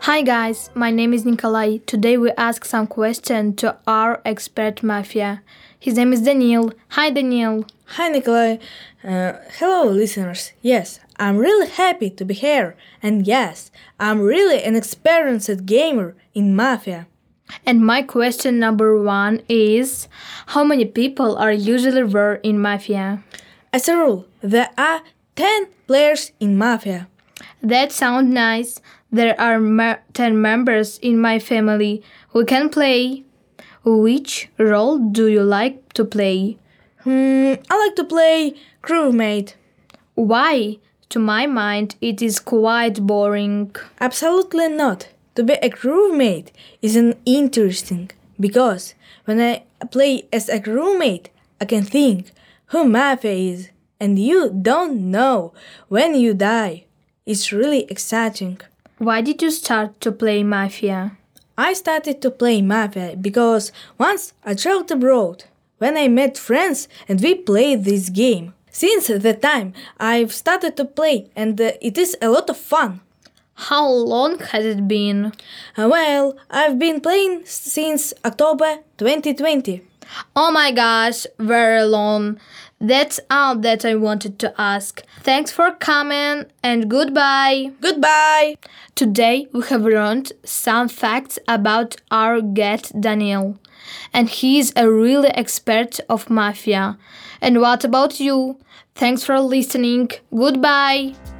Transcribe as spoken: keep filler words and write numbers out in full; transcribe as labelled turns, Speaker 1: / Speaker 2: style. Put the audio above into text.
Speaker 1: Hi guys, my name is Nikolai. Today we ask some questions to our expert mafia. His name is Daniel. Hi Daniel.
Speaker 2: Hi Nikolai. Uh, hello listeners. Yes, I'm really happy to be here. And yes, I'm really an experienced gamer in Mafia.
Speaker 1: And my question number one is, how many people are usually there in Mafia?
Speaker 2: As a rule, there are ten players in Mafia.
Speaker 1: That sounds nice. There are me- ten members in my family who can play. Which role do you like to play?
Speaker 2: Hmm, I like to play crewmate.
Speaker 1: Why? To my mind, it is quite boring.
Speaker 2: Absolutely not. To be a crewmate isn't interesting because when I play as a crewmate, I can think who Mafia is, and you don't know when you die. It's really exciting.
Speaker 1: Why did you start to play Mafia?
Speaker 2: I started to play Mafia because once I traveled abroad when I met friends and we played this game. Since that time, I've started to play and uh, it is a lot of fun.
Speaker 1: How long has it been?
Speaker 2: Uh, well, I've been playing since October twenty twenty.
Speaker 1: Oh my gosh, very long. That's all that I wanted to ask. Thanks for coming and goodbye.
Speaker 2: Goodbye!
Speaker 1: Today we have learned some facts about our guest Daniel. And he is a really expert of Mafia. And what about you? Thanks for listening. Goodbye.